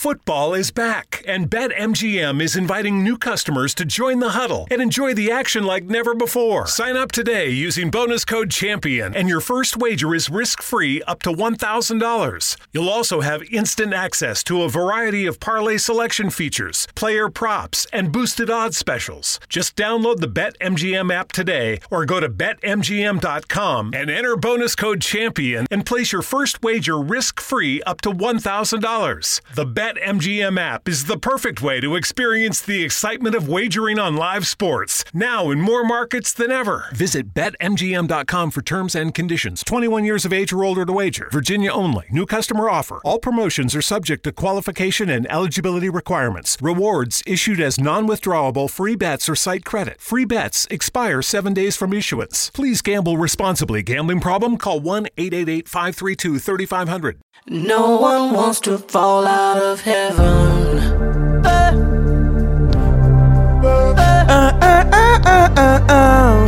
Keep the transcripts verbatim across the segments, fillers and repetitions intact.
Football is back, and BetMGM is inviting new customers to join the huddle and enjoy the action like never before. Sign up today using bonus code CHAMPION, and your first wager is risk-free up to one thousand dollars. You'll also have instant access to a variety of parlay selection features, player props, and boosted odds specials. Just download the BetMGM app today or go to bet M G M dot com and enter bonus code CHAMPION and place your first wager risk-free up to one thousand dollars. The BetMGM app is the perfect way to experience the excitement of wagering on live sports, now in more markets than ever. Visit bet M G M dot com for terms and conditions. twenty-one years of age or older to wager. Virginia only. New customer offer. All promotions are subject to qualification and eligibility requirements. Rewards issued as non-withdrawable free bets or site credit. Free bets expire seven days from issuance. Please gamble responsibly. Gambling problem? Call one eight eight eight, five three two, three five zero zero. No one wants to fall out of heaven. Uh, uh, uh, uh, uh, uh, uh.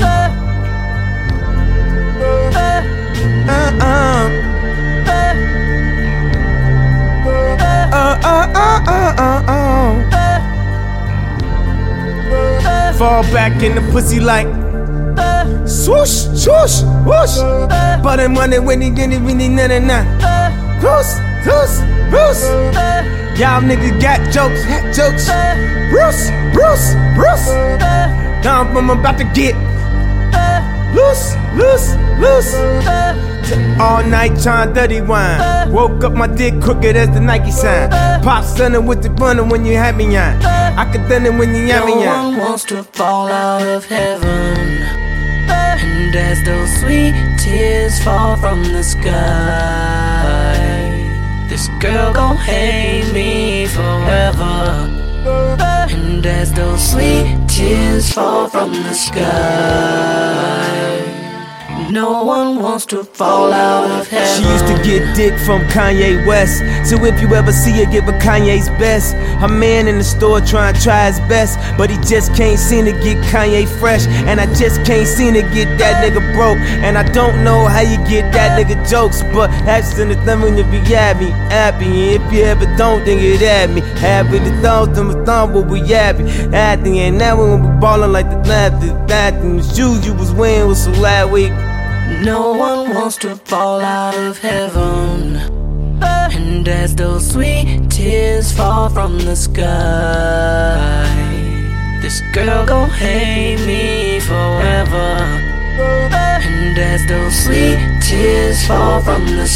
Fall back in the pussy like swoosh, swoosh, whoosh. But I'm running when he get it, really, na na na. Bruce, Bruce, Bruce. Y'all niggas got jokes, hat jokes. Bruce, Bruce, Bruce. Now I'm about to get loose, loose, loose. All night trying dirty wine. Woke up my dick crooked as the Nike sign. Pop stunning with the runner when you had me on. I could done it when you had me on. No one wants to fall out of heaven. And as those sweet tears fall from the sky, this girl gon' hate me forever. And as those sweet tears fall from the sky, no one wants to fall out of heaven. She used to get dick from Kanye West. So if you ever see her, give her Kanye's best. Her man in the store trying to try his best, but he just can't seem to get Kanye fresh. And I just can't seem to get that nigga broke. And I don't know how you get that nigga jokes, but that's in the thumb when you be happy, happy. And if you ever don't, then get at me. Happy the thumbs, then the thumb will be happy. Happy, and now we be ballin' like the left, the that, and the shoes you was wearing was so last week. No one wants to fall out of heaven. And as those sweet tears fall from the sky, this girl gon' hate me forever. And as those sweet tears fall from the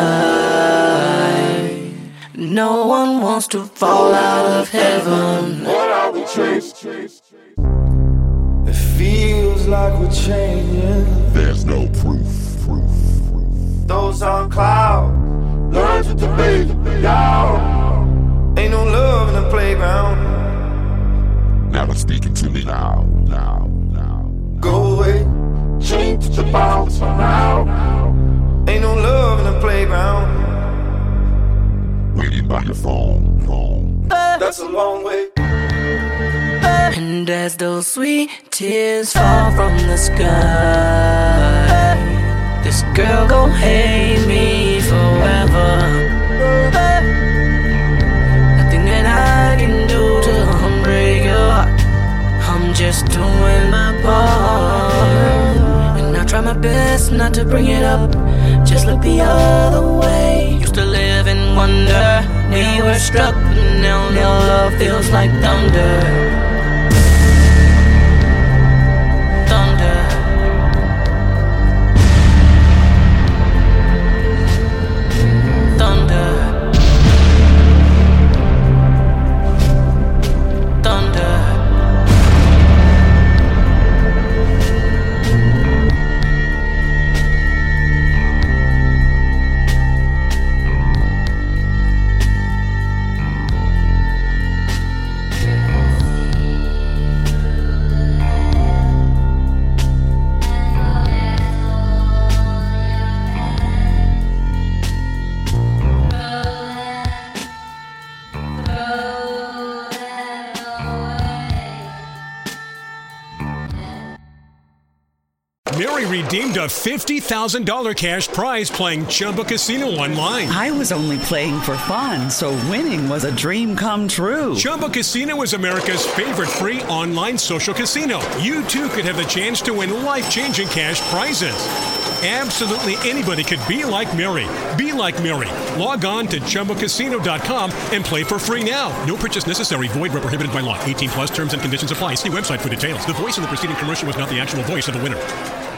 sky, no one wants to fall out of heaven. What are we chasing? It feels like we're changing. There's no proof, proof, proof. Those on clouds, learn to debate, y'all. Ain't no love in the playground. Now they're speaking to me now, now, now. Go away, change the bounce now. Ain't no love in the playground. Waiting by your phone, phone. That's a long way. And as those sweet tears fall from the sky, this girl gon' hate me forever. Nothing that I can do to break your heart. I'm just doing my part, and I try my best not to bring it up. Just look the other way. Used to live in wonder. We were struck, but now no love feels like thunder. redeemed a fifty thousand dollars cash prize playing Chumba Casino online. I was only playing for fun, so winning was a dream come true. Chumba Casino is America's favorite free online social casino. You too could have the chance to win life-changing cash prizes. Absolutely anybody could be like Mary. Be like Mary. Log on to Chumba Casino dot com and play for free now. No purchase necessary. Void where prohibited by law. eighteen plus terms and conditions apply. See website for details. The voice of the preceding commercial was not the actual voice of the winner.